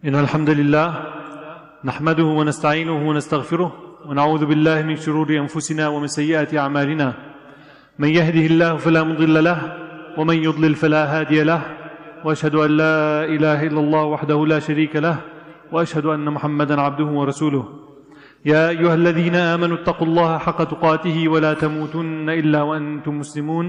إن الحمد لله نحمده ونستعينه ونستغفره ونعوذ بالله من شرور أنفسنا ومن سيئات أعمالنا من يهده الله فلا مضل له ومن يضلل فلا هادي له وأشهد أن لا إله إلا الله وحده لا شريك له وأشهد أن محمدا عبده ورسوله يا أيها الذين آمنوا اتقوا الله حق تقاته ولا تموتن إلا وأنتم مسلمون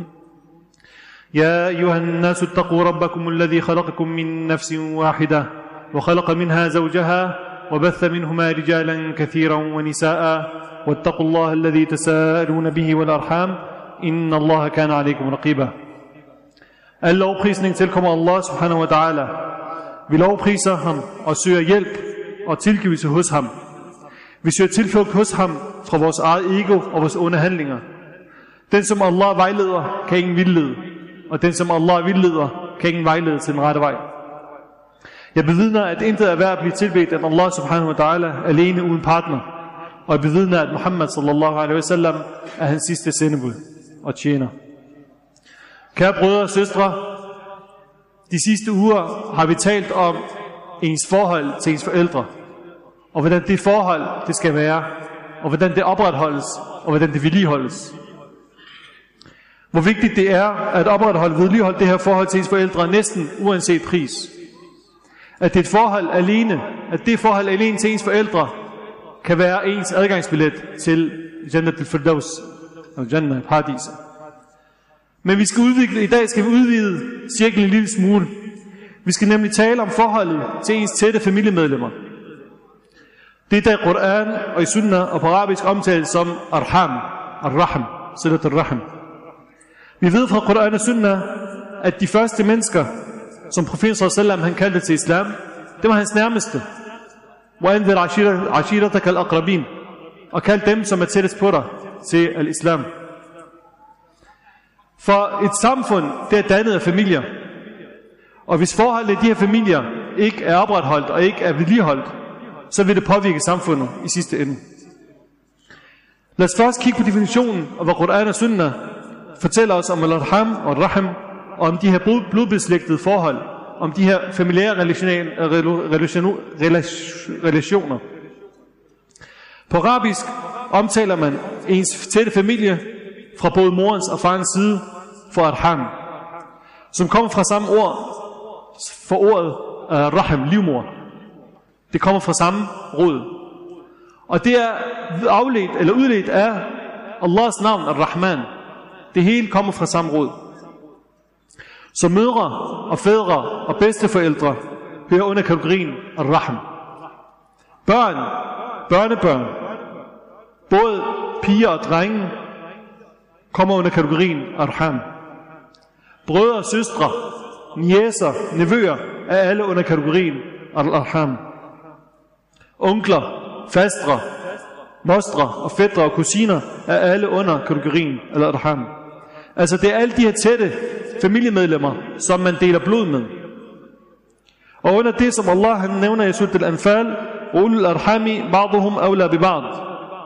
يا أيها الناس اتقوا ربكم الذي خلقكم من نفس واحدة وخلق منها زوجها وبث منهما رجالا كثيرا ونساء واتقوا الله الذي تساءلون به والأرحام إن الله كان عليكم رقيبا. Al lovprisning tilkommer Allah subhanahu wa ta'ala. Vi lovpriser ham og søger hjælp og tilgivelse hos ham. Vi søger tilflugt hos ham fra vores eget ego og vores onde handlinger. Den som Allah vejleder, kan ingen vildlede, og den som Allah vildleder, kan ingen vejlede til den rette vej. Jeg bevidner, at intet er værd at blive tilbedt af Allah subhanahu wa ta'ala alene uden partner, og jeg bevidner, at Muhammad sallallahu alaihi wasallam er hans sidste sendebud og tjener. Kære brødre og søstre, de sidste uger har vi talt om ens forhold til ens forældre, og hvordan det forhold det skal være, og hvordan det opretholdes, og hvordan det vedligeholdes. Hvor vigtigt det er at opretholde og vedligeholde det her forhold til ens forældre næsten uanset pris. At det forhold alene til ens forældre kan være ens adgangsbillet til Jannat al-Firdaus, eller Jannah, paradiset. Men i dag skal vi udvide cirklen en lille smule. Vi skal nemlig tale om forholdet til ens tætte familiemedlemmer. Det er der Quran og i Sunnah og på arabisk omtales som arham, ar-rahim, silat ar-rahim. Vi ved fra Quran og Sunnah, at de første mennesker, som profeten sallallahu han kaldte til islam, det var hans nærmeste. وَأَنذِرْ عَشِيرَتَكَ الْأَقْرَبِينَ, og kald dem, som er tættest på dig, til al-islam. For et samfund, det er dannet af familier. Og hvis forholdet i de her familier ikke er opretholdt og ikke er vedligeholdt, så vil det påvirke samfundet i sidste ende. Lad os først kigge på definitionen af, hvad Quran og Sunnah fortæller os om al-arham og al-rahim, og om de her blodbeslægtede forhold, om de her familiære relationer. På arabisk omtaler man ens tætte familie fra både morens og farens side for arham, som kommer fra samme ord for ordet rahim, livmor. Det kommer fra samme rod. Og det er afledt eller udledt af Allahs navn, ar-Rahman. Det hele kommer fra samme rod. Så mødre og fædre og bedsteforældre hører under kategorien ar-Rahim. Børnebørn, både piger og drenge, kommer under kategorien arham. Brødre og søstre, niecer, nevøer er alle under kategorien arham. Onkler, fastre, mostre og fætre og kusiner er alle under kategorien arham. Altså det er alle de her tætte familiemedlemmer, som man deler blod med. Og under det, som Allah han nævner i Surat al-Anfal, ulul arhami ba'duhum awla bi ba'd.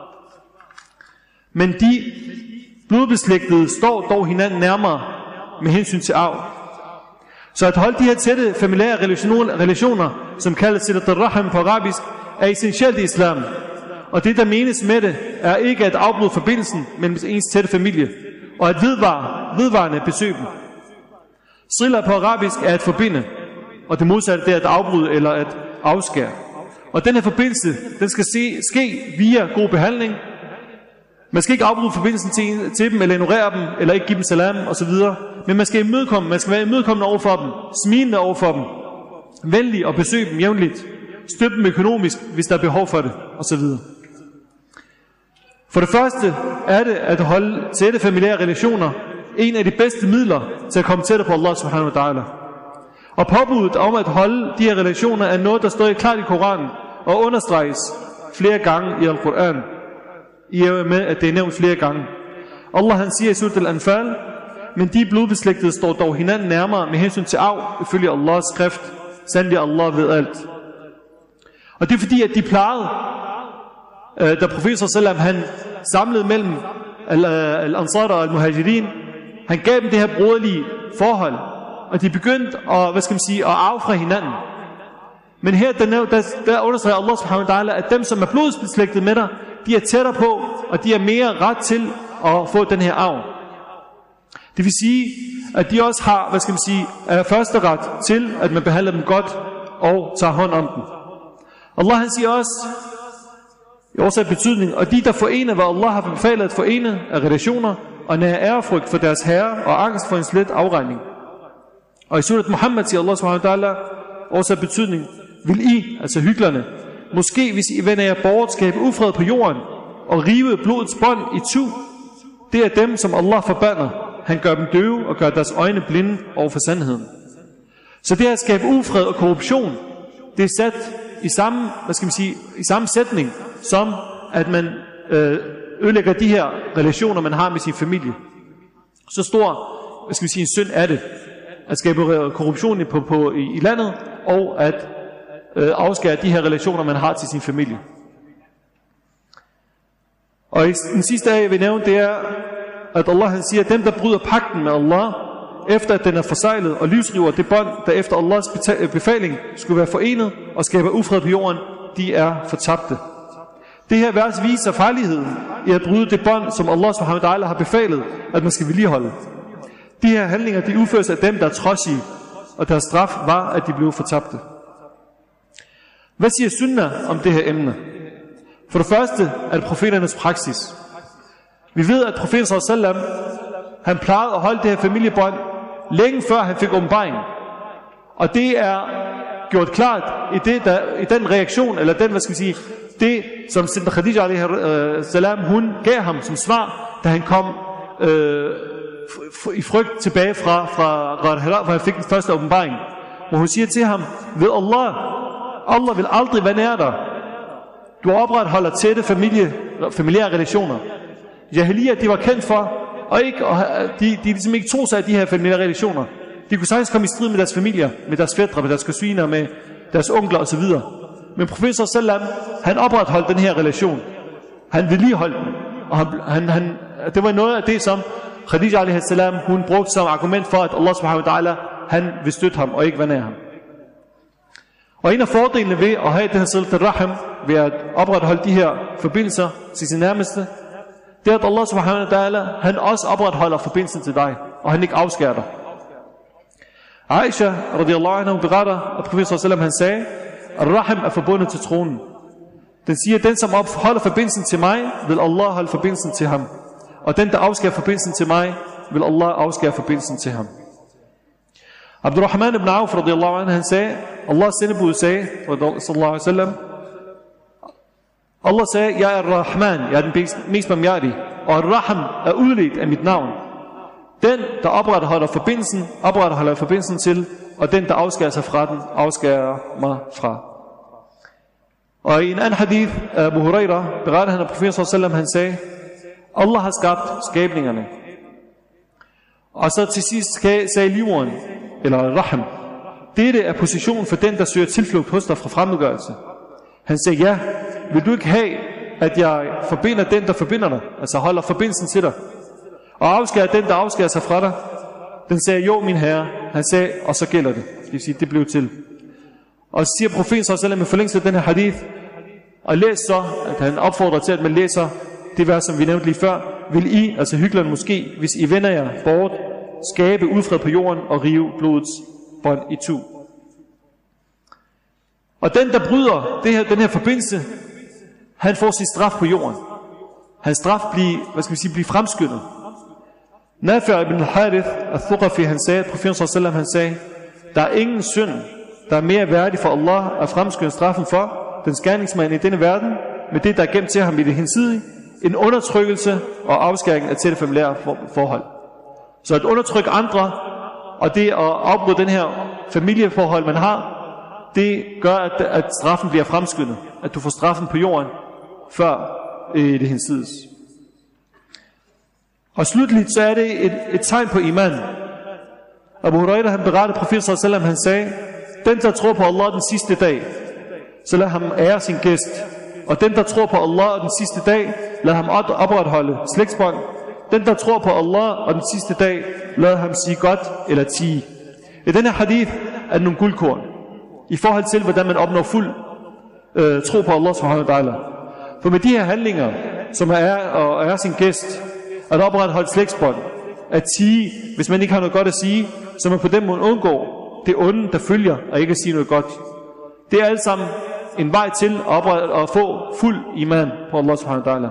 Men de blodbeslægtede står dog hinanden nærmere med hensyn til arv. Så at holde de her tætte familiære relationer, som kaldes silat ar-rahim på arabisk, er essentielt i islam. Og det, der menes med det, er ikke at afbryde forbindelsen mellem ens tætte familie, og at vedvarende besøge dem. Sila på arabisk er at forbinde, og det modsatte det er at afbryde eller at afskære. Og den her forbindelse, den skal ske via god behandling. Man skal ikke afbryde forbindelsen til dem, eller ignorere dem, eller ikke give dem salam osv. Men man skal være imødekommende over for dem, smilende over for dem, venlig og besøge dem jævnligt, støtte dem økonomisk, hvis der er behov for det osv. For det første er det at holde tætte familiære relationer en af de bedste midler til at komme tættere på Allah subhanahu wa ta'ala. Og påbuddet om at holde de her relationer er noget, der står klart i Koranen og understreges flere gange i Al-Quran. I er med, at det er nævnt flere gange. Allah han siger i Surat al-Anfal, men de blodbeslægtede står dog hinanden nærmere med hensyn til arv, ifølge Allahs skrift. Sandelig Allah ved alt. Og det er fordi, at de plejede, da profeten sallam han samlede mellem al-Ansar og al-Muhajirin, han gav dem det her broderlige forhold, og de begyndte at, at arve fra hinanden. Men her der understreger Allah subhanahu wa ta'ala, at dem som er blodsbeslægtet med dig, de er tættere på, og de er mere ret til at få den her arv. Det vil sige, at de også har, første ret til, at man behandler dem godt og tager hånd om dem. Allah han siger også, i årsag betydning, og de der forener, hvad Allah har befalet at forene af relationer, og nær ærefrygt for deres herre, og angst for en slet afregning. Og i surat Muhammad siger Allah subhanahu wa ta'ala, årsag betydning, vil I, altså hyklerne, måske hvis I vender jer bort, skabe ufred på jorden, og rive blodets bånd i tu, det er dem, som Allah forbander. Han gør dem døve og gør deres øjne blinde over for sandheden. Så det at skabe ufred og korruption, det er sat i samme, i samme sætning, som at man ødelægger de her relationer, man har med sin familie. Så stor, en synd er det, at skabe korruption i landet, og at afskære de her relationer, man har til sin familie. Og den sidste af, jeg vil nævne, det er, at Allah han siger, at dem, der bryder pagten med Allah, efter at den er forsejlet, og livsriver det bånd, der efter Allahs befaling skulle være forenet, og skaber ufred på jorden, de er fortabte. Det her vers viser farligheden i at bryde det bånd, som Allah subhanahu wa ta'ala har befalet, at man skal vedligeholde. De her handlinger, de udføres af dem, der er trodsige, og deres straf var, at de blev fortabte. Hvad siger sunnah om det her emne? For det første er det profeternes praksis. Vi ved, at profeten sallallahu alaihi wasallam, han plejede at holde det her familiebånd længe før han fik åbenbaring. Og det er gjort klart i den reaktion, eller den, det som Sinda Khadija alaihi salam, hun gav ham som svar, da han kom i frygt tilbage fra Ghar Hira, hvor han fik den første åbenbaring. Hvor hun siger til ham, ved Allah vil aldrig være nær dig. Du opretholder tætte familiære relationer. Jahiliya, de var kendt for, og de ligesom ikke tog sig af de her familiære relationer. De kunne sagtens komme i strid med deres familier, med deres fætre, med deres kusiner, med deres onkler osv. Men profeten sallallahu, han opretholdt den her relation. Han vedligeholdt den. Og det var noget af det, som Khadija alaihi salam, hun brugte som argument for, at Allah subhanahu wa ta'ala, han vil støtte ham og ikke være nær ham. Og en af fordelene ved at have den her silat al-rahim, ved at opretholde de her forbindelser til sin nærmeste, det er, at Allah subhanahu wa ta'ala, han også opretholder forbindelsen til dig, og han ikke afskærer dig. Aisha radiyallahu anha beretter, at profeten sallallahu han sagde, at rahim er forbundet til tronen. Den siger, at den som holder forbindelsen til mig, vil Allah holde forbindelsen til ham. Og den der afskærer forbindelsen til mig, vil Allah afskære forbindelsen til ham. Abdurrahman ibn Auf radiyallahu anhu, han sagde, Allahs sendebud sagde, sallallahu alaihi wasallam, Allah sagde, jeg er Rahman, jeg er den mest barmhjertige, og Rahim er udledt af mit navn. Den, der opretholder forbindelsen til, og den, der afskærer sig fra den, afskærer mig fra. Og i en anden hadith, Abu Huraira, beretter han af profeten sallallahu han sagde, Allah har skabt skabningerne. Og så til sidst sagde liveren, eller Rahim, dette er positionen for den, der søger tilflugt hos dig fra fremmedgørelse. Han sagde, ja, vil du ikke have, at jeg forbinder den, der forbinder dig, altså holder forbindelsen til dig, og afskærer den, der afskærer sig fra dig? Den sagde, jo min herre. Han sagde, og så gælder det. Det vil sige, det blev til. Og så siger profeten sallallahu med forlængelse af den her hadith, og læs så, at han opfordrer til, at man læser det vers, som vi nævnte lige før, vil I, altså hyklerne måske, hvis I vender jer bort, skabe ufred på jorden og rive blodets bånd i tu. Og den, der bryder den her forbindelse, han får sin straf på jorden. Hans straf bliver fremskyndet. Nafi' ibn al-Harith al-Thuqafi, han sagde, profeten sallallahu han sagde, der er ingen synd, der er mere værdig for Allah at fremskynde straffen for den gerningsmand i denne verden, med det, der er gemt til ham i det hensidige, en undertrykkelse og afskæring af tætte familiære forhold. Så at undertrykke andre, og det at afbryde den her familieforhold, man har, det gør, at straffen bliver fremskyndet. At du får straffen på jorden, før det hensides. Og slutligt så er det et tegn på iman. Abu Huraira, han berettede profeten sallallahu han sagde, den der tror på Allah den sidste dag, så lad ham ære sin gæst. Og den der tror på Allah den sidste dag, lad ham opretholde slægtsbånd. Den der tror på Allah og den sidste dag, lad ham sige godt eller tie. I denne hadith er nogle guldkorn. i forhold til, hvordan man opnår fuld tro på Allah subhanahu wa ta'ala. For med de her handlinger, som er sin gæst, at opretholde slægtsbånd, at sige, hvis man ikke har noget godt at sige, så man på den måde undgår det onde, der følger, og ikke at sige noget godt. Det er alt sammen en vej til at få fuld iman på Allah subhanahu wa ta'ala.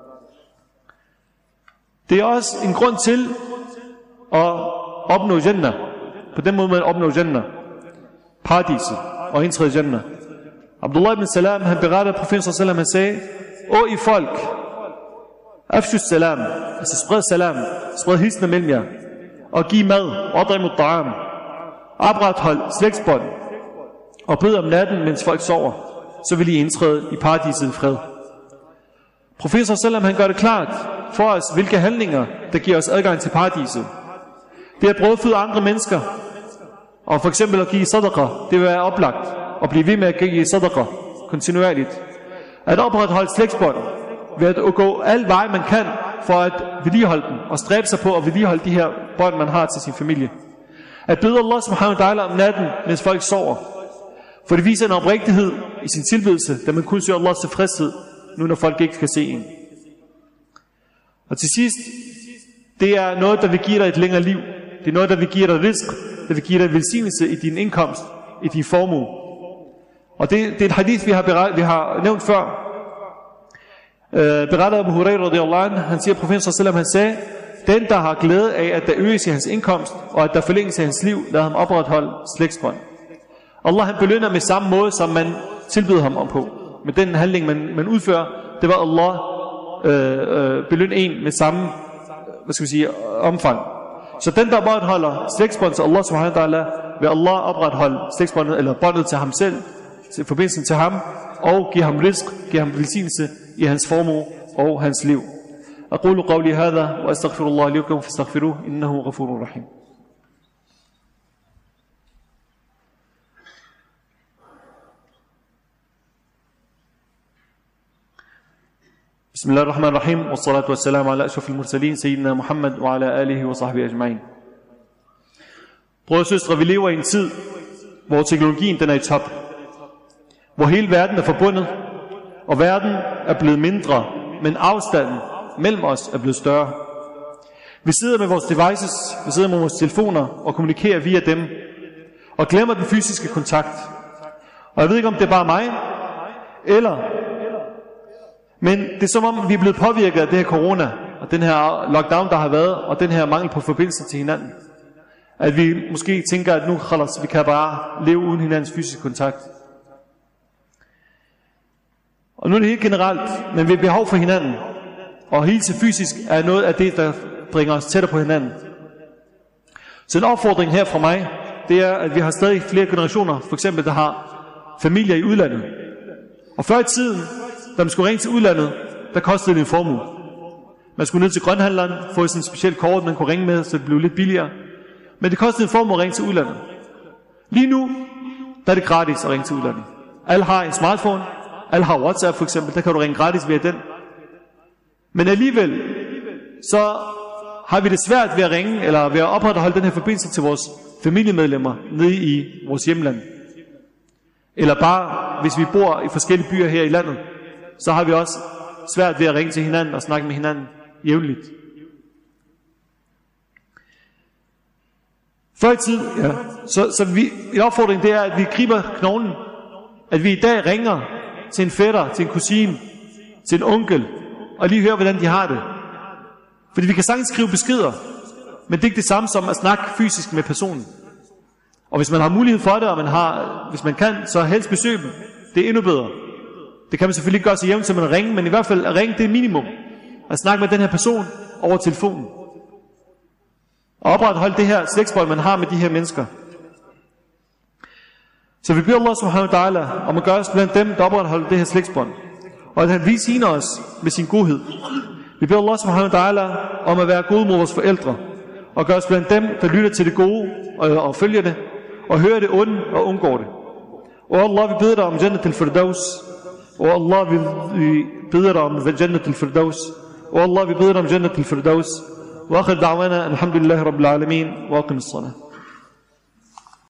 Det er også en grund til at opnå Jannah. På den måde man opnår Jannah, paradiset, og indtræde Jannah. Abdullah ibn Salam, han berettede, at profeten sallam, han sagde: Å I folk, afshu salam, altså spred salam, spred hilsner mellem jer, og giv mad, odrimu ta'am, oprethold slægtsbånd, og bed om natten, mens folk sover, så vil I indtræde i paradiset i fred. Profeten sallam, han gør det klart for os, hvilke handlinger, der giver os adgang til paradiset. Det er at brødføde andre mennesker, og for eksempel at give sadaqa, det vil være oplagt, og blive ved med at give sadaqa kontinuerligt. At opretholde slægtsbånd, ved at gå alle veje man kan, for at vedligeholde dem, og stræbe sig på at vedligeholde de her bånd, man har til sin familie. At bede Allah subhanahu wa ta'ala om natten, mens folk sover, for det viser en oprigtighed i sin tilbedelse, da man kun søger Allahs tilfredshed, nu når folk ikke kan se en. Og til sidst, det er noget, der vil give dig et længere liv. Det er noget, der vil give dig rizq, der vil give dig velsignelse i din indkomst, i din formue. Og det er et hadith, vi har nævnt før. Berettet Abu Hurairah radiyallahu anhu, han siger, profeten sallam, han sagde: den, der har glæde af, at der øges i hans indkomst, og at der forlænges i hans liv, lad ham opretholde slægtsbånd. Allah, han belønner med samme måde, som man tilbyder ham om på. Med den handling, man udfører, det var Allah belønne en med samme, omfang. Så den, der opretholder slægtsbånd til Allah subhanahu wa ta'ala, vil Allah opretholde slægtsbåndet, eller båndet til ham selv, til forbindelsen til ham, og give ham rizq, give ham velsignelse i hans formue og hans liv. أقول قولي هذا وأستغفر الله لكم فاستغفروه إنه غفور رحيم. بسم الله الرحمن الرحيم والصلاة والسلام على أشرف المرسلين سيدنا محمد وعلى آله وصحبه أجمعين. Brødre og søstre, vi lever i en tid, hvor teknologien den er i top, hvor hele verden er forbundet, og verden er blevet mindre, men afstanden mellem os er blevet større. Vi sidder med vores devices, vi sidder med vores telefoner og kommunikerer via dem, og glemmer den fysiske kontakt. Og jeg ved ikke, om det er bare mig, men det er som om, vi er blevet påvirket af det her corona, og den her lockdown, der har været, og den her mangel på forbindelse til hinanden. At vi måske tænker, at nu vi kan bare leve uden hinandens fysiske kontakt. Og nu er det helt generelt, men vi har behov for hinanden. Og hilse fysisk er noget af det, der bringer os tættere på hinanden. Så en opfordring her fra mig, det er, at vi har stadig flere generationer, for eksempel, der har familier i udlandet. Og før i tiden, da man skulle ringe til udlandet, der kostede det en formue. Man skulle ned til grønhandleren, få sådan en speciel kort, man kunne ringe med, så det blev lidt billigere. Men det kostede en formue at ringe til udlandet. Lige nu, der er det gratis at ringe til udlandet. Alle har en smartphone, alle har WhatsApp for eksempel, der kan du ringe gratis via den. Men alligevel, så har vi det svært ved at ringe, eller ved at opretholde den her forbindelse til vores familiemedlemmer nede i vores hjemland. Eller bare, hvis vi bor i forskellige byer her i landet, så har vi også svært ved at ringe til hinanden og snakke med hinanden jævnligt. Før i tid, en opfordring det er, at vi griber knoglen. At vi i dag ringer til en fætter, til en kusine, til en onkel, og lige høre, hvordan de har det. Fordi vi kan sagtens skrive beskeder, men det er ikke det samme som at snakke fysisk med personen. Og hvis man har mulighed for det, og hvis man kan, så helst besøge dem. Det er endnu bedre. Det kan man selvfølgelig ikke gøre så jævnt, som man ringer, men i hvert fald at ringe, det er minimum. At snakke med den her person over telefonen. Og opretholde det her slægtsbånd, man har med de her mennesker. Så vi beder Allah subhanahu wa ta'ala om at gøre os blandt dem, der opretholder det her slægtsbånd. Og at han viser os med sin godhed. Vi beder Allah subhanahu wa ta'ala om at være gode mod vores forældre. Og gøre os blandt dem, der lytter til det gode og følger det. Og hører det onde og undgår det. Og Allah, vi beder dig om Jannat al-Firdaus. Og Allah, vi beder dig om Jannat al-Firdaus. Og Allah, vi beder dig om Jannat al-Firdaus. Wa akhir da'wana alhamdulillahi rabbil alamin. Wa aqim as-salah.